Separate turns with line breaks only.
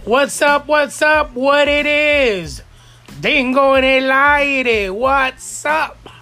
What's up? What's up? What it is? Dingo en el aire. What's up?